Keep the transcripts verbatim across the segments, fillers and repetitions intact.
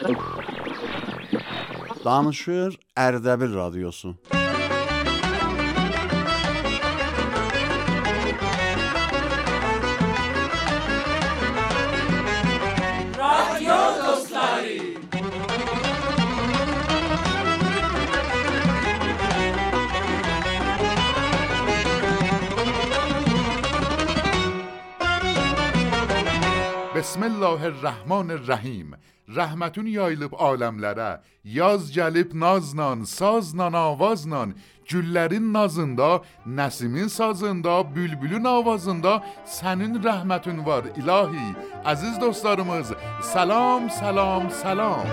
Danışır Ərdəbil Radiosu. رادیو دوستاری. بسم الله الرحمن الرحیم. Rəhmətin yayılıb aləmlərə, yaz gəlib naznan, saznan, avaznan, güllərin nazında, nəsimin sazında, bülbülün avazında sənin rəhmətin var ilahi. Əziz dostlarımız, salam, salam, salam.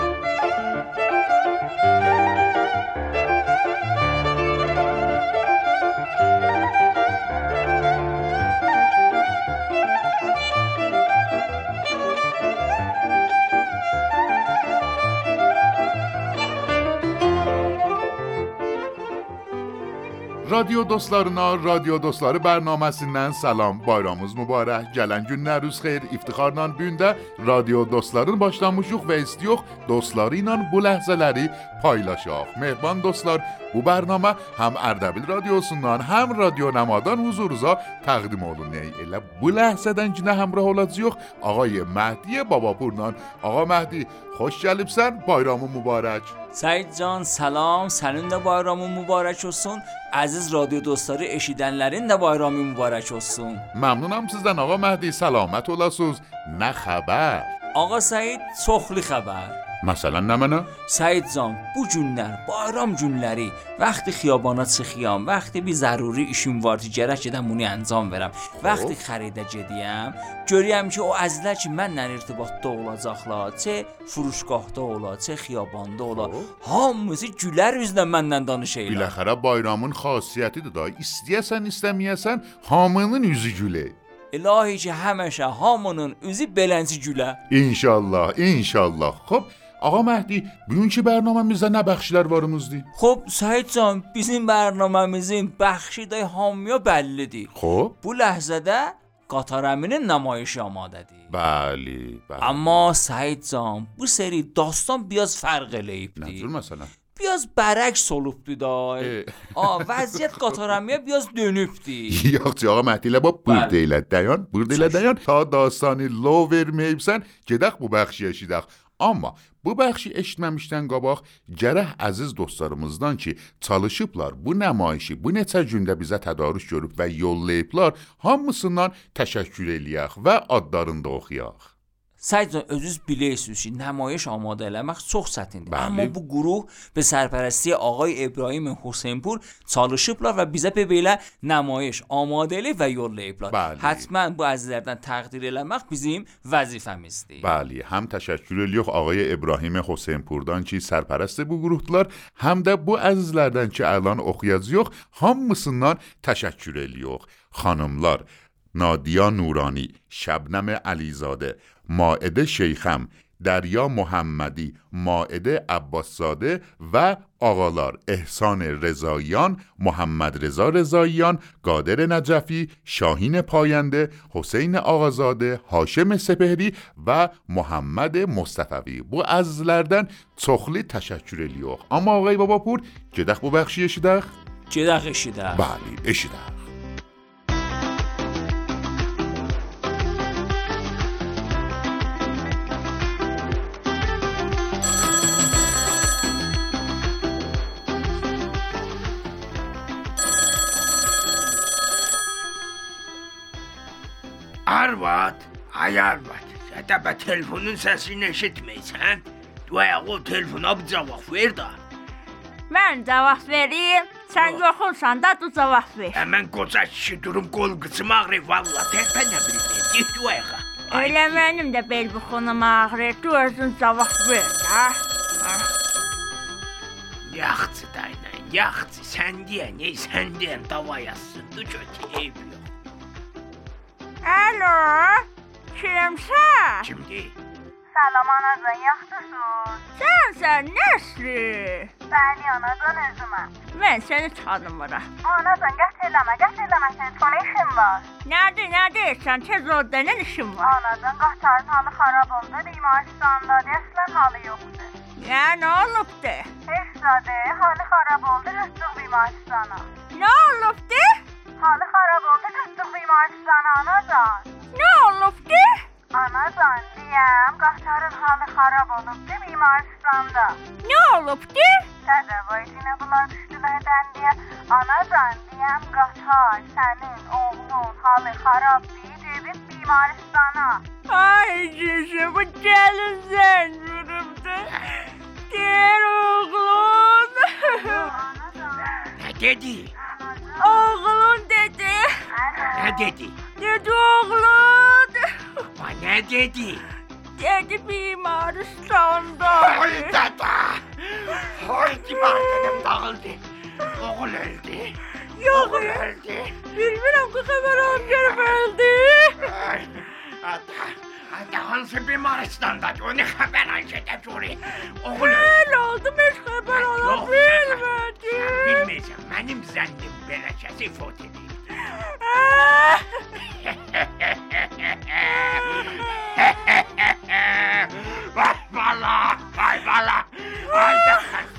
Radyo dostlarına, Radyo Dostları bərnaməsindən salam, bayramımız mübarək, gələn günləriniz xeyir, iftiharla bündə Radyo Dostların başlamışıq və istiyox dostları ilə bu ləhzələri paylaşaq. Mehman dostlar, bu bərnamə həm Ərdəbil Radiosundan, həm Radyo Nəmadan huzurunuza təqdim olunur. Elə bu ləhzədən ki nə həmrah olacaq, Ağay Məhdi Babapurla. Ağa Məhdi, xoş gəlibsən, bayramı mübarək. Səid can, salam, sənin də bayramın mübarək olsun. Əziz radyo dostları eşidənlərin də bayramı mübarək olsun. Məmnunam sizdən Ağa Məhdi, səlamət olasınız. Nə xəbər? Ağa Səid, çoxlu xəbər. Məsələn nə mənə? Səid can, bu günlər, bayram günləri, vaxtı xiyabana çıxıyam, vaxtı bir zəruri işim var ki, gərək edəm bunu anjam verəm. Vaxtı xəridə gediyəm, görəyəm ki, o əzizlər ki, mənlə irtibatda olacaqlar, çə furuşgahda ola, çə xiyabanda ola, hamısı gülər üzlə mənlə danışırlar. Biləxərə bayramın xasiyyətidir da, istəyəsən, istəməyəsən, hamının üzü gülə. İlahi ki, həməşə hamının üzü belənci gülə. İnşallah, inşallah. Xoş. Ağa Məhdi, bugünkü bərnaməmizdə nə bəxşlər varımızdır? Xoş, Səid can, bizim bərnaməmizin bəxşi də hamıya bəllidir. Xoş. Bu ləhzədə Qatar əminin nümayişi amadədir. Bəli, bəli. Amma Səid can, bu seri dastan biraz fərq eləyibdir. Nə cür məsələn? Biraz bərəks olubdur da. A, vəziyyət Qatar əmiyə biraz dönübdür. Yox, Ağa Məhdi ilə bax, burada elə dayan, burada elə dayan. Ta dastanı lo verməyibsən, gedək bu bəxşi eşidək. Amma bu bəxşi eşitməmişdən qabaq gərək əziz dostlarımızdan ki, çalışıblar bu nəmayişi bu neçə gündə bizə tədarük görüb və yollayıblar, hamısından təşəkkür eləyək və adlarını da oxuyaq. Səid can, özünüz bilirsiniz ki, nəmayiş amadə eləmək çox çətindir. Bəli. Amma bu quruh və sərpərəstliyi Ağay İbrahim Hüseynpur çalışıblar və bizə belə nəmayiş amadə eləyib və yollayıblar. Bəli. Həttəmən bu əzizlərdən təqdir eləmək bizim vəzifəmizdir. Bəli, həm təşəkkür edirik Ağay İbrahim Hüseynpurdan ki, sərpərəst bu qruplar, həm də bu əzizlərdən ki, əlan oxuyacağıq, hamısından təşəkkür edirik. Xanımlar, نادیا نورانی، شبنم علیزاده، مائده شیخم، دریا محمدی، مائده عباسزاده و آقالار احسان رضاییان، محمد رضا رضاییان، قادر نجفی، شاهین پاینده، حسین آقازاده، هاشم سپهری و محمد مصطفی. Bu əzizlərdən çoxlu təşəkkür edirik. Amma Ağay Babapur, gedək bu bəxşi eşidək? Gedək eşidək. Bəli, eşidək. Arvad, ay Arvad, sən də bə telefonun səsini eşitməysən? Duaya o telefona bir cavab ver da. Mən cavab vereyim, sən yoxulsan da du cavab ver. Həmən qoca kişi durum qol qıçım ağrır, valla tərpənə bilməyim, get duaya. Elə mənim də bel buxunum ağrır, du özün cavab ver da. Yaxçı daynan, yaxçı, sən deyən, ey sən deyən davayasın, du kötü eyb yox. Alo, kimsən? Kimdir? Salam anacan, yaxşısın? Sən sən nəsli? Bəli anacan, özüməm. Mən səni tanımıram. Anacan, qət eləmə, qət eləmə, telefona işim var. Nədir, nədir, sən tez ol, nə işin var? Anacan, Qatarın halı xarab oldu, Rimaristan'da, dəslən halı yox. Ya ne olubdu? Heç zadə, halı xarab oldu, tutduq bimaristana. Ne olubdu? Halı xarab oldu, tutduq bimaristana anacan. Ne olubdu? Anacan, deyəm, qatarın halı xarab olubdu bimaristanda. Ne olubdu? Dədə, vaycinə bunlar düşdülərdən deyə. Anacan, deyəm, qatar sənin oğlun halı xarab deyib, gedib bimaristana. Ay cücü, bu gəlin sən vurubdu. Gel oğlum. Nə dedi? Oğlum dedi. Nə dedi? Dedi oğlum. Ba, nə dedi? Dedi bimaristanda. Ay dədə! Ay divardanım dağıldı. Oğul öldü. Yok Oğul ya. öldü. Bilmirəm ki, xəbər alıb gəlib öldü. Ay, ata, ata hansı bimaristanda? O nə xəbər alacaq görək. Oğul öldü. Nə oldu, heç xəbər ala Yox, bilmədi. sən bilməyəcəm. Mənim zənnim beləcəsi fot edir. Vay bala, vay bala. Ay da.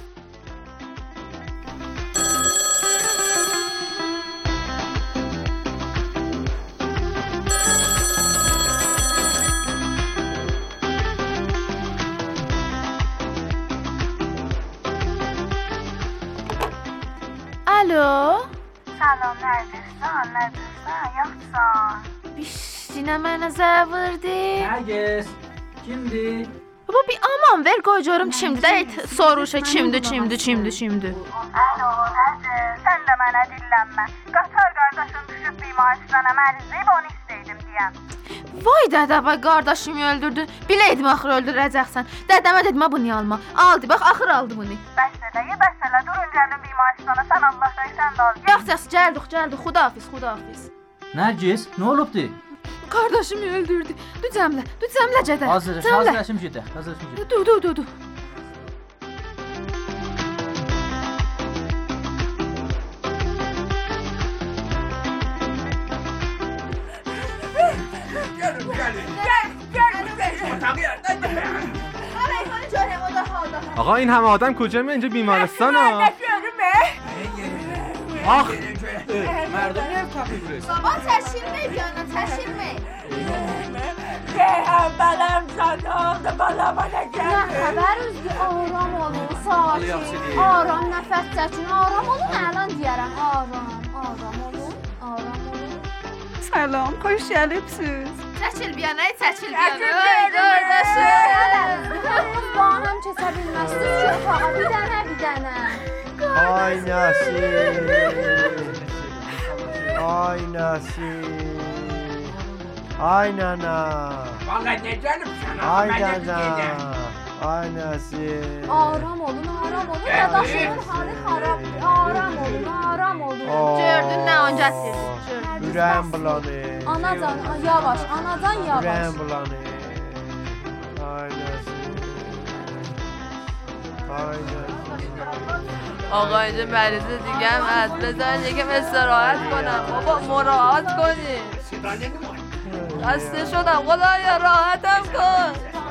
Alo. Salam, nədirsən, nədirsən, yaxşısan? Bişdinə mənə zəng vurdu. Nergis, kimdi? Baba bir aman ver qoy görüm kimdir də soruşa kimdir, kimdir, kimdir, kimdir. Alo, nədir? Sən də mənə dillənmə. Qatar qardaşın düşüb bimaristana mərzib, onu istəydim deyəm. Vay dədə, vay qardaşımı öldürdü. Biləydim axır öldürəcəksən. Dədəmə dedim ha bunu alma. Aldı, bax axır aldı bunu. Bəs eləyə, bəs elə, durun gəlin bimaristana, sən Allah dəysən də al. Yox, yox, gəldik, gəldik. Xudahafiz, xudahafiz. Nergis, ne olubdu? Qardaşımı öldürdü. Du cəmlə, du cəmlə cədə. Hazır, hazırlaşım gedək, hazırlaşım gedək. Du, du, du, du. Gəlin, gəlin. Gel, gel, gel. Otağı yerdən də. Arayxanı görəm o da halda. آقا این همه آدم کجا می اینجا بیمارستان ها؟ Ne görme? آخ Mərdim ev tapıb. Baba çəkilmək bir yana, çəkilmək. Reyhan balam sana oldu, balama ne Nə geldi? xəbər üzgü aram olun, Halı yaxşı sakin. deyil. Aram, nəfəs çəkin, aram olun, əlan deyərəm. Aram, aram olun, aram olun. Salam, xoş gəlibsiz. Çəkil bir yana, çəkil bir Çəkil yana. bir yana. Qardaşım. Bağım kəsə bilməzsiniz ki, otağa bir dənə, bir dənə. Ay Nasir. Ay Nasir. Ay nana. Vallahi nə gəlibsən? Ay nana. Ay Nasir. Aram olun, aram olun. Dadaşımın halı xarabdır. Aram olun, aram olun. Gördün nə on gətirdi? Ürəyim bulanır. Anacan, yavaş, anacan yavaş. Ürəyim bulanır. Ay Nasir. Ay Nasir. آقا اینجا مریضه دیگه هم هست بذارین یکم استراحت کنم بابا مراعات کنین خسته شدم خدایا راحتم کن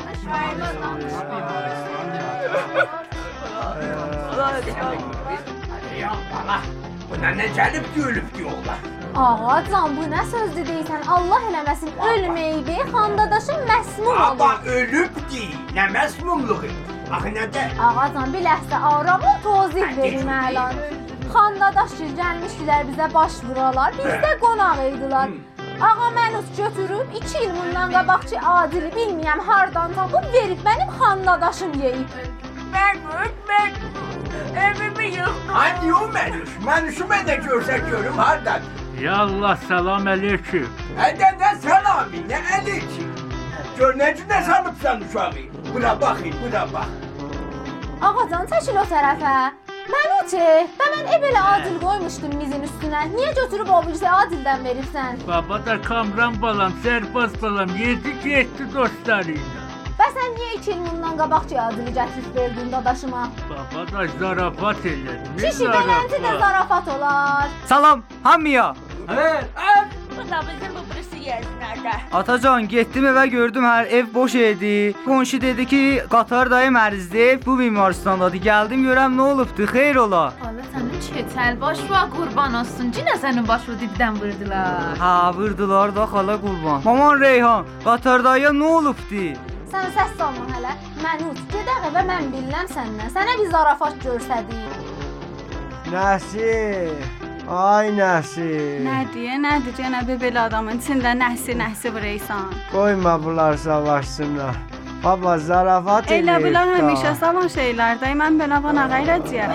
Ya bala, buna nə gəlib gülüb diyorlar. Ağacan, bu nə sözdür deyirsən? Allah eləməsin, ölməyib, xandadaşın məsmum olur. Ama ölüb deyil, nə məsmumluğu. Axı nədə? Ağacan, bir ləhsə aram ol, tozih verim əlan. Xandadaş ki, gəlmişdilər bizə baş vuralar, bizdə qonaq idilər. Ağa mənus götürüb, iki il bundan qabaq ki, Adili bilməyəm hardan tapıb verib mənim xandadaşım yeyib. Ben, ben evimi yıktım. Hani o Mənüş? Mənüşü mən də görsək görüm hardan? Ya Allah, salam aleyküm. Hədə nə salami, nə aleyküm. Gör nə cünə sanıbsan uşağı. Bura baxın, bura bax. Ağacan, çəkil o tərəfə. Məni çək, və mən ev elə Adil qoymuşdum mizin üstünə. Niyə götürüb o birisi Adildən veribsən? Baba da Kamran balam, Sərbaz balam, yedi getdi dostlarıyla. Və sən niyə iki il bundan qabaq ki, Adili gətirib verdin dadaşıma? Baba da zarafat elədi. Kişi belənti də zarafat olar. Salam, hamıya. Evet. Bu da bizim bu birisi yersinədə. Atacan, getdim evə gördüm hər ev boş idi. Qonşu dedi ki, Qatar dayı mərzdir, bu bimarstandadır. Gəldim görəm nə olubdu, xeyr ola. Allah sənin çetəl baş var, qurban olsun. Cinə sənin başı dibdən vurdular. Ha, vurdular da xala qurban. Maman Reyhan, Qatar dayıya nə olubdu? Sən səs salma hələ. Mənut, gedək evə, mən bilirəm səndən. Sənə bir zarafat görsədik. Nəsir, ay Nəsir. Nədir, nədir cənabı belə adamın içində nəhsi nəhsi vuraysan? Qoyma bunlar savaşsınlar. Baba zarafat eləyib. Elə bunlar həmişə savan şeylərdir. Mən belə bana qayracıyam.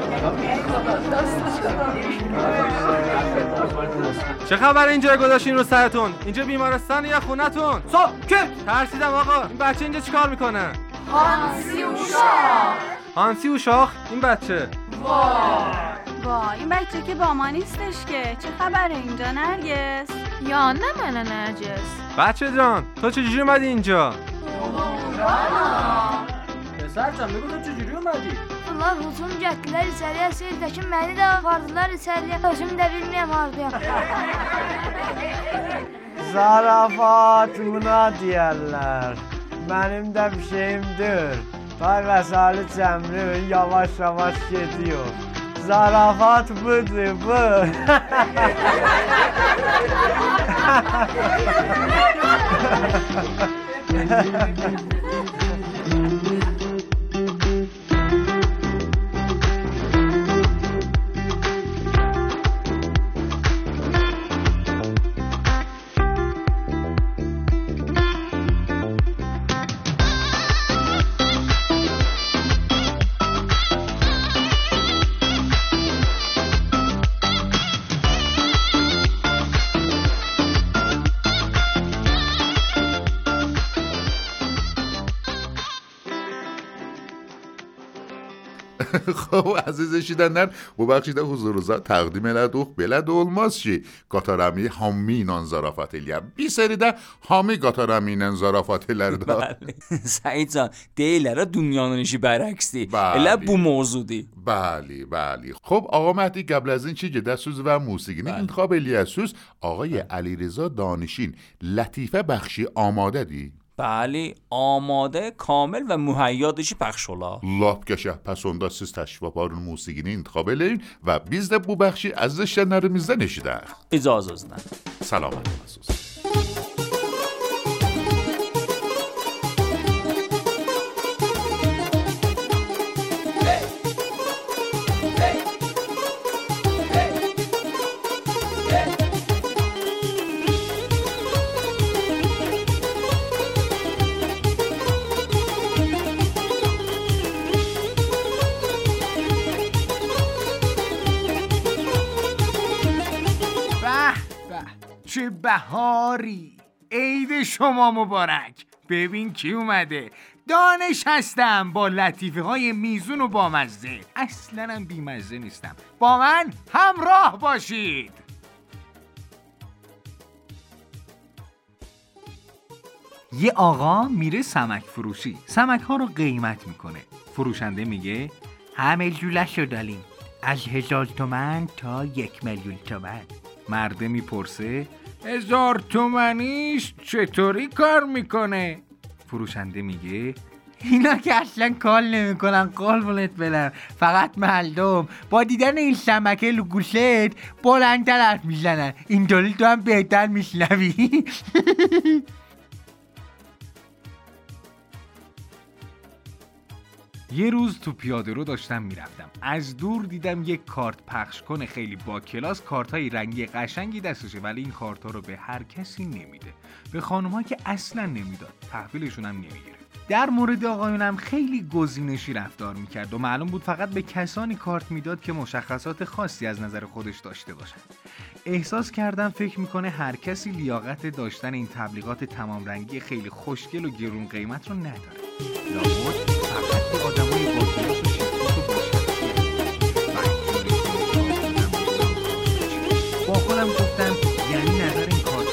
چه خبر اینجا گذاشتین رو سرتون؟ اینجا بیمارستان یا خونتون؟ ساکت! ترسیدم آقا. این بچه اینجا چیکار میکنه؟ هانسی و شاخ. هانسی و شاخ؟ این بچه؟ وای این بچه که با ما نیستش که. چه خبره اینجا نرگس؟ یا نه منه نرگس. بچه جان تو چجوری اومدی اینجا؟ پسر جان بگو تو چجوری اومدی؟ Bunlar hücum getdilər içəriyə, Seyidəkin məni də apardılar içəriyə. Özüm də bilməyəm hardayam. Zarafat buna deyərlər. Mənim də bir şeyimdir. Tay vəsaili cəmrin yavaş-yavaş gediyor. Zarafat budur, bu. خب aziz eşidenler, bu bakışda huzurunuza təqdim elədik. Belə də olmaz ki, Qatarəmi hamı ilə zarafat eləyər. Bir seridə hamı Qatarəmi ilə zarafat elər də. Bəli. Səidcan, deyirlər dünyanın işi bərəksdir. Elə bu mövzudur. Bəli, bəli. خب آقا مهدی قبل از اینکه جدسوز و موسیقی انتخاب الیاسوس آقای علیرضا دانشین لطیفه بخشی آماده دی؟ بله آماده کامل و مهیادشی پخش ola. Lap qəşəng. Pəs onda siz təşrif aparın, musiqini intiqab eləyin və biz də bu bəxşi əziz işlənlərimizdən eşidək. İcazənizlə. Salamat olsun. چه بهاری، عید شما مبارک. ببین کی اومده. دانش هستم با لطیفه های میزون و بامزه. اصلا هم بیمزه نیستم. با من همراه باشید. یه آقا میره سمک فروشی، سمک ها رو قیمت میکنه. فروشنده میگه همه جولش رو داریم، از هزار تومن تا یک میلیون تومن. مرده میپرسه هزار تومنیش چطوری کار میکنه؟ فروشنده میگه اینا که اصلا کار نمیکنن، قربونت برم، فقط مردم با دیدن این سمکه لو گوشت بلندتر حرف میزنن، اینطوری تو هم بهتر میشنوی. یه روز تو پیاده رو داشتم میرفتم، از دور دیدم یک کارت پخش کنه خیلی با کلاس، کارت های رنگی قشنگی دستشه، ولی این کارت ها رو به هر کسی نمیده، به خانوما که اصلا نمیداد، تحویلشون هم نمیگیره. در مورد آقایونم خیلی گزینشی رفتار میکرد و معلوم بود فقط به کسانی کارت میداد که مشخصات خاصی از نظر خودش داشته باشن. احساس کردم فکر میکنه هر کسی لیاقت داشتن این تبلیغات تمام رنگی خیلی خوشگل و گرون قیمت رو نداره. لابد فقط به آدمای با کلاس و شیفت و با خودم گفتم یعنی نظر این کار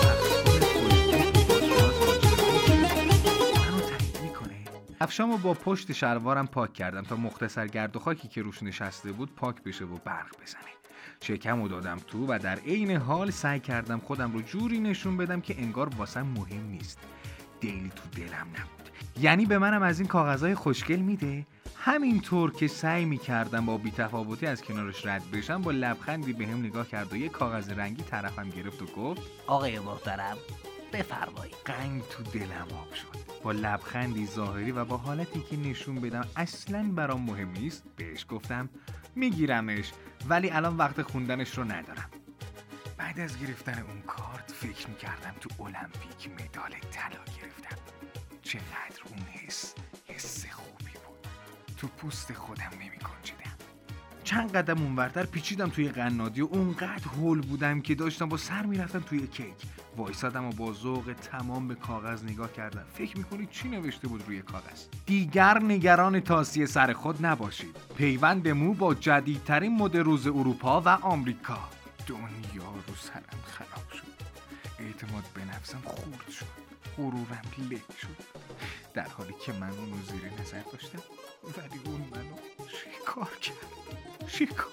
کفشامو با پشت شلوارم پاک کردم تا مختصر گرد و خاکی که روش نشسته بود پاک بشه و برق بزنه. شکمو دادم تو و در عین حال سعی کردم خودم رو جوری نشون بدم که انگار واسم مهم نیست. دلی تو دلم نبود. یعنی به منم از این کاغذهای خوشگل میده؟ همینطور که سعی میکردم با بی‌تفاوتی از کنارش رد بشم، با لبخندی بهم نگاه کرد و یه کاغذ رنگی طرفم گرفت و گفت آقای محترم بفرمایید. قنگ تو دلم آب شد. با لبخندی ظاهری و با حالتی که نشون بدم اصلاً برام مهم نیست بهش گفتم میگیرمش، ولی الان وقت خوندنش رو ندارم. بعد از گرفتن اون کارت فکر میکردم تو المپیک مدال طلا گرفتم. چقدر اون حس حس خوبی بود. تو پوست خودم نمی‌گنجیدم. چند قدم اونورتر پیچیدم توی قنادی و اونقدر هول بودم که داشتم با سر میرفتم توی کیک. وایسادم و با ذوق تمام به کاغذ نگاه کردم. فکر میکنید چی نوشته بود روی کاغذ؟ دیگر نگران تاسی سر خود نباشید. پیوند مو با جدیدترین مد روز اروپا و آمریکا. دنیا رو سرم خراب شد. اعتماد به نفسم خورد شد. غرورم له شد. در حالی که من اونو زیر نظر داشتم، ولی اون منو شکار کرد. شکار.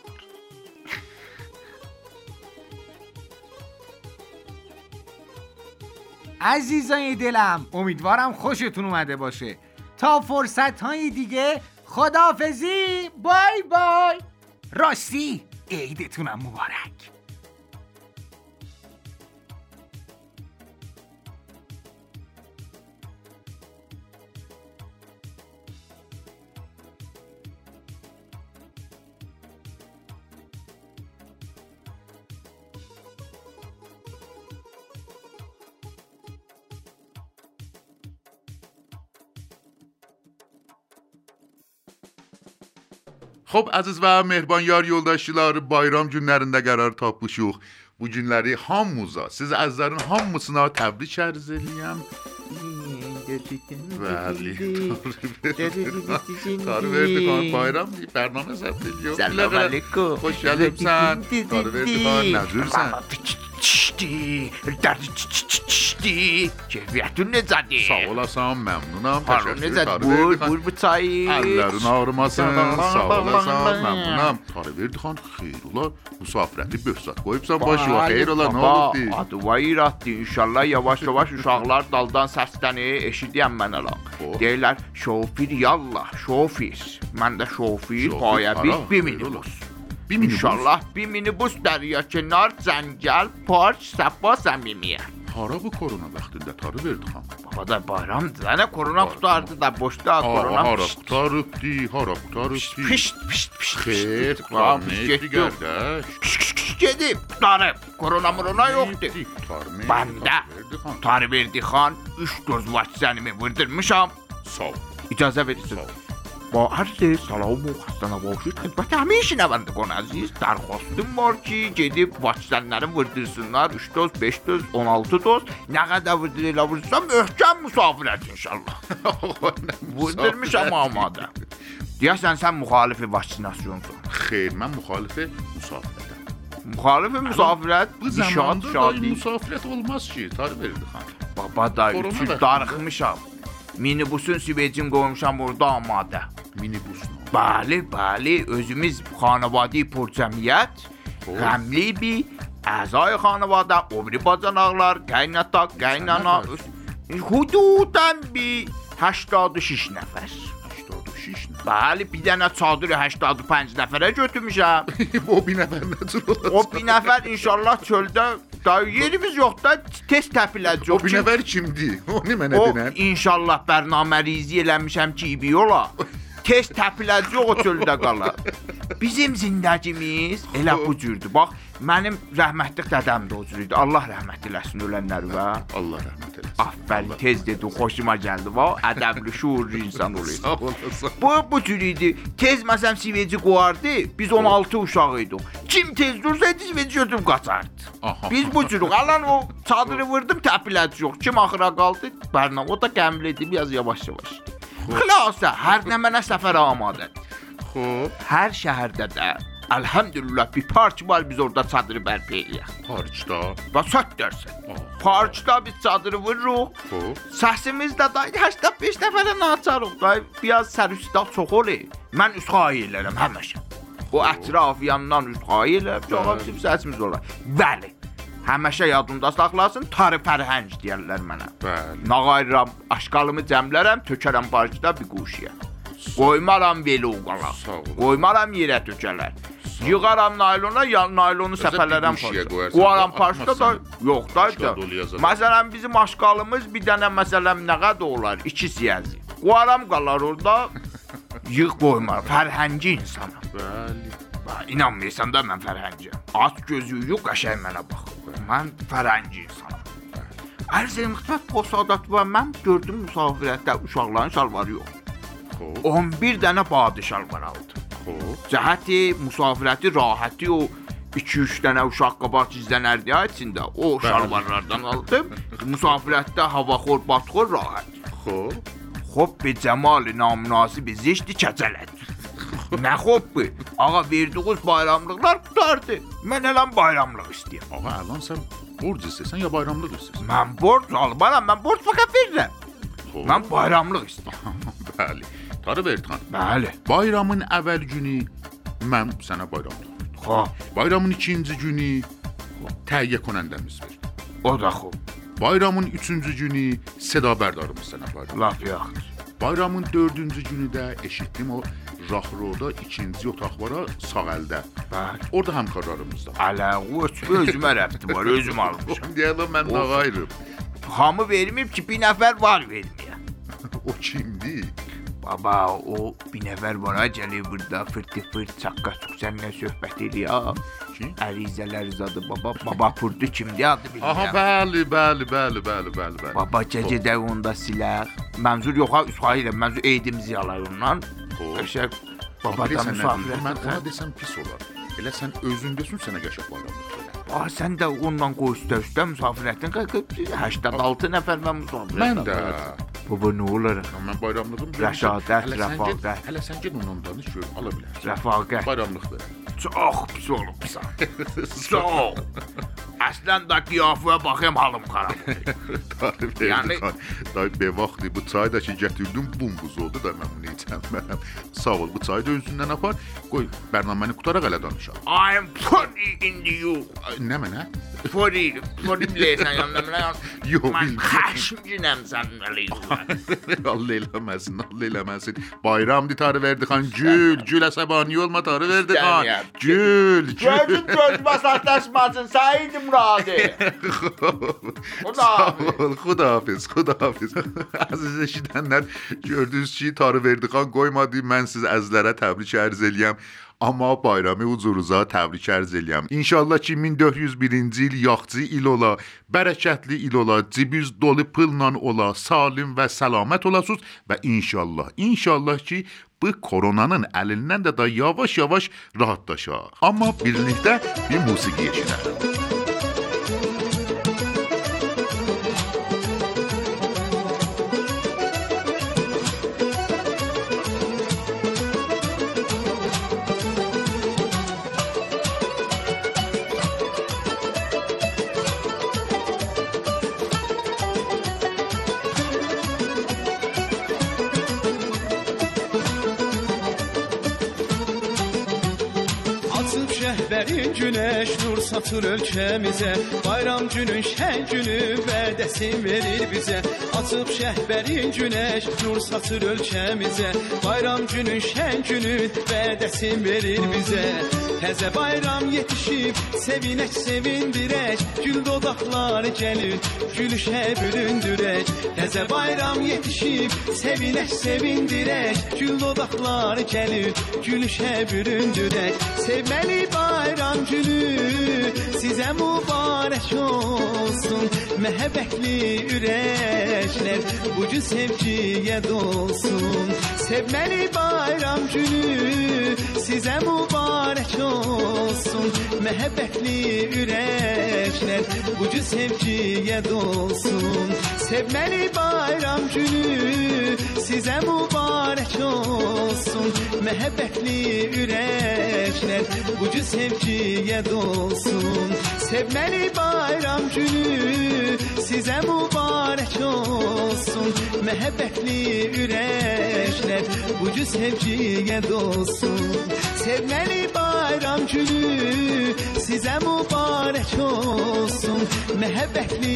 عزیزای دلم، امیدوارم خوشتون اومده باشه. تا فرصت های دیگه خداحافظی. بای بای. راستی عیدتونم مبارک. Xo'p, aziz və mehriban yar yoldaşlar, bayram günlərində qərar tapmışıq. Bu günləri hamımıza, siz əzizlərin hamısına təbrik ərz eləyəm. Bəli. Tarverdi xan, bayram deyib, bərnamə zəbt ediyor. Səlam aleyküm. Xoş gəlibsən. Tarverdi xan, nəzürsən? Çişdi, derdi çişdi. Keyfiyyətün necədir? Sağ olasan, məmnunam. Harun necədir? Buyur, buyur bu çayı. Əllərin ağrımasın. Sağ olasan, məmnunam. Tarverdi xan, xeyr ola. Müsafirəti böhsat qoyubsan başı var. Xeyr ola, nə olubdu? Adı var iratdi. İnşallah yavaş-yavaş uşaqlar daldan səslənir, eşidiyəm mən ala. Deyirlər, şofir yallah, şofir. Mən də şofir, paya bir, bir minibus. İnşallah bir minibus dərya kenar, cəngəl, park, səbba, səmimiyə. Hara bu korona vaxtında Tarverdi xan? Baba da bayramdır. Nə korona qutardı da boşda korona. Hara qutarıbdı, hara qutarıbdı. Pişt, pişt, pişt. Xeyr, qarnıydı qardaş. Gedib, qutarıb. Korona murona yoxdur. Bəndə Tarverdi xan üç doz vaksinimi vurdurmuşam. Sağ ol. İcazə verirsiniz. با عرض سلام و خسته نباشید خدمت همه شنوندگان عزیز درخواستım var ki gedib vaksinləri vurdursınlar. üç doz, beş doz, on altı doz. Nə qədər vurdururlar vurdursam möhkəm müsafirət inşallah. Vurdurmuşam amadə. Deyəsən sən müxalifi vaksinasiyonsun. Xeyr, mən müxalifi müsafirətəm. Müxalifi müsafirət? Bu zamanda da müsafirət olmaz ki, Tarverdi xan. Baba da üçü darıxmışam. Minibusun süvecin qoymuşam orada amadə. Minibus mu? Bəli, bəli, özümüz xanavadi purcəmiyyət, qəmli bir əzay xanavada, obri bacanaqlar, qaynata, qaynana, hududan bir هەشتاد و شش nəfər. هەشتاد و شش nəfər? Bəli, bir dənə çadırı هەشتاد و پنج nəfərə götürmüşəm. O bir nəfər necə olacaq? O bir nəfər inşallah çöldə, da yerimiz yox da test təpiləcək. O bir nəfər kimdir? Onu mənə denən. O inşallah bərnamə rizi eləmişəm ki, ibi yola. Test təpiləcək o çöldə qala. Bizim zindagimiz elə bu cürdür. Bax, mənim rəhmətli dədəm də o cür idi. Allah rəhmət eləsin ölənləri və. Allah rəhmət eləsin. Aferin, tez dedi, xoşuma gəldi va. Ədəbli, şuurlu insan olur. Bu bu cür idi. Tez məsələn siveci qoyardı. Biz on altı uşaq idik. Kim tez dursaydı siveci götürüb qaçardı. Biz bu cürük. Alan o çadırı vurdum, təpiləcək yox. Kim axıra qaldı? Bərnam o da qəmlidir, biraz yavaş-yavaş. Xülasə, hər nə mənə səfər amadədir. Xoş. Hər şəhərdə də elhamdülillah bir park var, biz orada çadırı bərpa eləyək. Parkda? Bax, sət dərsən. Parkda biz çadırı vururuq. Səsimiz də da هشتاد و پنج nəfərə naçarıq. Da biraz sərüstaq çox olur. Mən üsxay elərəm həmişə. O ətraf yandan üzxay elə, cavab sif səsimiz olar. Bəli. Həmişə yadımda saxlasın, tarı fərhəng deyərlər mənə. Bəli. Nağayıram, aşqalımı cəmlərəm, tökərəm barcıda bir quşiyə. Qoymaram veli uqala. Qoymaram yerə tökələr. Yığaram naylona, ya naylonu səpələrəm parçada. Qoyaram parçada da, yox da. Məsələn, bizim aşqalımız bir dənə məsələn nə qədər olar? İki siyəzi. Qoyaram qalar orada, yığ qoymar. Fərhəngi insanım. Bəli. İnanmıysan da mən fərhəngiyəm. At gözü yox, qəşəng mənə bax. Mən fərhəngi insanım. Ərz xidmət posadat var, mən gördüm müsafirətdə uşaqların şalvarı yox. on bir dənə badı şalvar aldı. Cəhəti, müsafirəti, rahəti o iki üç dənə uşaq qabaq izlənərdi içində. O şalvarlardan aldım. Müsafirətdə havaxor, batxor, rahət. Xob. Xob be cəmal-i namünasibi zişti kəcələdi. Nə xob bu? Ağa verdiğiniz bayramlıqlar qutardı. Mən eləm bayramlıq istəyəm. Ağa, əlan sən borc istəsən ya bayramlıq istəsən? Mən borc almaram, mən borc fəqət verirəm. Mən bayramlıq istəyəm. Bəli. Tarı Verdiqan. Bəli. Bayramın əvvəl günü mən sənə bayramlıq verdim. Xob. Bayramın ikinci günü təhiyyə konəndəmiz verdi. O da xob. Bayramın üçüncü günü seda bərdarımız sənə bayram. Laf yaxdır. Bayramın dördüncü günü də eşitdim o Rahroda ikinci otaq var sağ əldə. Bəli. Orada həmkarlarımız da. Ələ, o özümə rəbti var, özüm almışam. Deyələ mən nağayırım. Hamı verməyib ki, bir nəfər var verməyə. O kimdir? Baba, o bir nəfər var ha, gəlir burada fırtı fırt, çaqqa çuq, səninlə söhbət eləyir. Kim? Ərizələr zadı baba, baba purdu kimdir adı bilmirəm. Aha, bəli, bəli, bəli, bəli, bəli, bəli. Baba, gecədə onda silər. Mənzur yox ha, üsxayı ilə, mənzur eydimizi yalar ondan. Qəşək, babadan müsafirət. Mən ona desəm pis olar. Elə sən özündəsin, sənə qəşək bayramlıq verəm. Aa, sən də ondan qoy üstə-üstə müsafirətin səksən altı nəfər mən müsafirət. Mən də. Baba, nə olar? Mən bayramlığım görürəm. Rəşadət, rəfaqət. Hələ sən ged ondan danış, gör, ala bilərsən. Rəfaqət. Bayramlıq verəm. Çox pis olubsan. Çox. Əslən də qiyafəyə baxayım, halım xarab. Tarif Verdiqan. Dayı, be vaxtı bu çayı da ki, gətirdim, bumbuz oldu da mən bunu içəməm. Sağ ol, bu çayı da özündən apar. Qoy, bərnaməni qutaraq elə danışaq. I'm funny in the you. Nə mənə? Funny, funny biləysən yanında mənə yaz. Yox, mən xəşmcinəm sənin əleyhə. Allah eləməsin, Allah eləməsin. Bayramdır Tarif Verdiqan, gül, gül əsəbani olma Tarif Verdiqan. Gül, gül. Gözüm gözümə saxtaşmasın, Səid Muradi. Xudahafiz. Xudahafiz, xudahafiz. Əziz eşidənlər, gördünüz ki, Tarif Verdiqan qoymadı, mən siz əzlərə təbrik ərz eləyəm. Amma bayramı huzurunuza təbrik ərz eləyəm. İnşallah ki, min dörd yüz birinci il yaxçı il ola, bərəkətli il ola, cibiz dolu pılla ola, salim və səlamət olasınız və inşallah, inşallah ki, bu koronanın əlindən də da yavaş-yavaş rahatlaşaq. Amma birlikdə bir musiqi eşidək. Şəhbərin günəş nur satır ölkəmizə, bayram günün şən günü vədəsin verir bizə. Açıb şəhbərin günəş nur satır ölkəmizə, bayram günün şən günü vədəsin verir bizə. Təzə bayram yetişib, sevinək sevindirək, gül dodaqlar gəlir, gülüşə büründürək. Təzə bayram yetişib, sevinək sevindirək, gül dodaqlar gəlir, gülüşə büründürək. Sevməli bayram günü sizə mübarək olsun, məhəbbətli ürəklər bu gün sevgiyə dolsun. Sevməli bayram günü sizə mübarək olsun, məhəbbətli ürəklər bu gün sevgiyə dolsun. Sevməli bayram günü sizə mübarək olsun, məhəbbətli ürəklər bu gün sevgiyə dolsun. Sevməli bayram günü sizə mübarək olsun, məhəbbətli ürəklər bu gün sevgiyə dolsun. Sevmeli bayram günü size mübarek olsun. Mehabbetli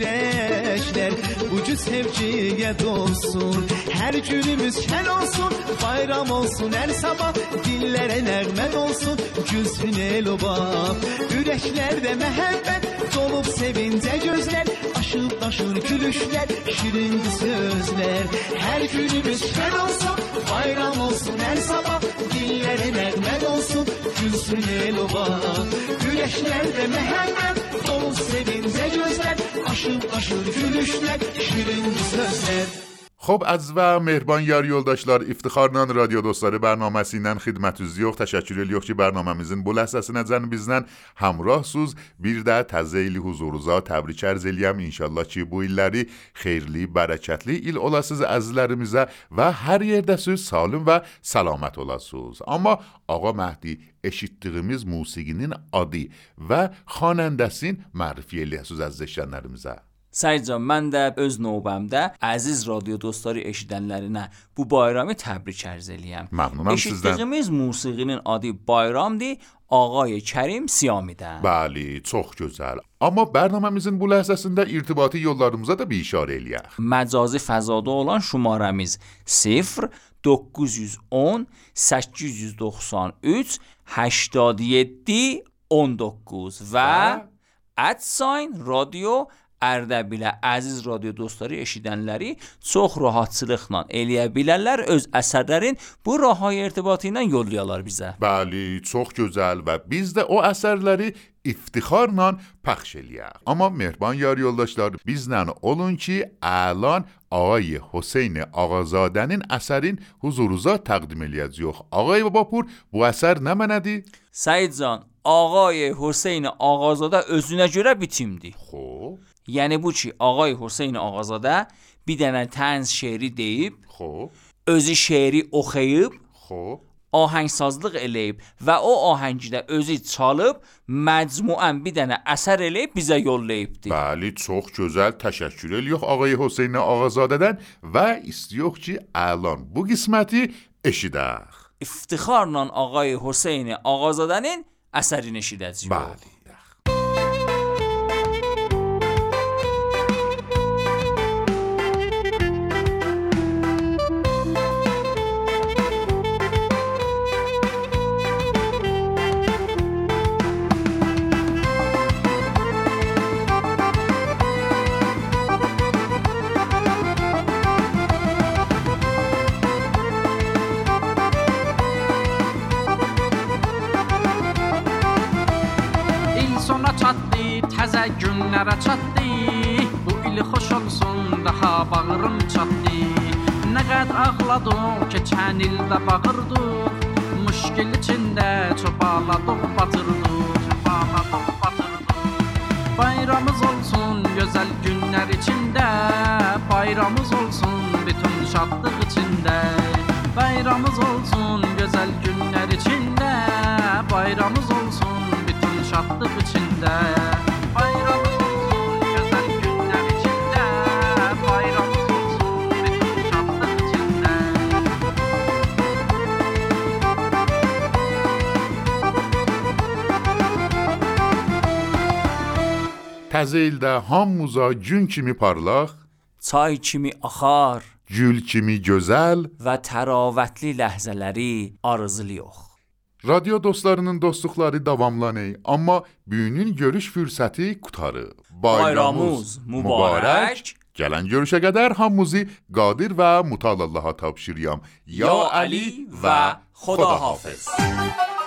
yürekler bu sevgiye dolsun. Her günümüz şen olsun, bayram olsun her sabah. Dillere nermen olsun, gülsün el oba. Yüreklerde mehabbet dolup sevince gözler. Aşıp taşır gülüşler, şirin sözler. Her günümüz şen olsun, bayram olsun her sabah. Dillere nermen olsun, gülsün el oba. Yüreklerde mehabbet dolup sevince gözler. Aşıp taşır gülüşler, şirin sözler. خب از و مهربان yar yoldaşlar, İftixarla radio dostları bərnaməsi ilə xidmətinizdə təşəkkür edirik ki, bərnaməmizin bu ləhzəsinəcən bizlə həmrahsınız. Bir də təzə ili huzurunuza təbrik ərz eləyəm. İnşallah ki, bu illəri xeyirli, bərəkətli il olasınız əzizlərimizə və hər yerdəsiz salim və səlamət olasınız. Amma Ağa Məhdi, eşitdiyimiz musiqinin adı və xanəndəsini mərifə eləyəsiniz əziz eşidənlərimizə. Səid can, mən də öz növbəmdə əziz radio dostları eşidənlərinə bu bayramı təbrik ərz eləyəm. Məmnunam sizdən. Eşitdiyimiz musiqinin adı Bayramdır, Ağay Kərim Siyamidən. Bəli, çox gözəl. Amma bərnaməmizin bu ləhzəsində irtibati yollarımıza da bir işarə eləyək. Məcazi fəzada olan şumaramız sıfır doqquz yüz on səkkiz yüz doxsan üç هشتاد و هفت on doqquz və @sign radio Ərdəbilə əziz radio dostları eşidənləri çox rahatçılıqla eləyə bilərlər, öz əsərlərin bu rahay irtibatı ilə yollayalar bizə. Bəli, çox gözəl və biz də o əsərləri iftixarla pəxş eləyək. Amma mehriban yar yoldaşlar, bizlə olun ki, əlan Ağay Hüseyn Ağazadənin əsərin huzurunuza təqdim eləyəcəyik. Ağay Babapur, bu əsər nə mənədir? Səid can, Ağay Hüseyn Ağazadə özünə görə bitimdir. Xoş. Yəni bu ki, Ağay Hüseyn Ağazadə bir dənə tənz şeiri deyib, xoş, özü şeiri oxuyub, xoş, ahəngsazlıq eləyib və o ahəngidə özü çalıb, məcmuən bir dənə əsər eləyib bizə yollayıbdır. Bəli, çox gözəl, təşəkkür edirik Ağay Hüseyn Ağazadədən və istəyirik ki, əlan bu qisməti eşidək. İftixarla Ağay Hüseyn Ağazadənin əsərini eşidəcəyik. Bəli. Təzə günlərə çatdı, bu il xoş olsun, daha bağrım çatdı. Nə qəd ağladıq, keçən ildə bağırdıq, müşkil içində çobaladıq, batırdıq, çobaladıq, batırdıq. Bayramımız olsun, gözəl günlər içində, bayramımız olsun, bütün şadlıq içində. Bayramımız olsun, gözəl günlər içində, bayramımız olsun, bütün şadlıq içində. Təzə ildə hamımıza gün kimi parlaq, çay kimi axar, gül kimi gözəl və təravətli ləhzələri arzulayıq. Radio dostlarının dostluqları davamlanır, amma büyünün görüş fürsəti qutarır. Bayramımız mübarək. Gələn görüşə qədər hamımızı qadir və mutallaha tapşırıram. Ya Ali və Xudahafiz.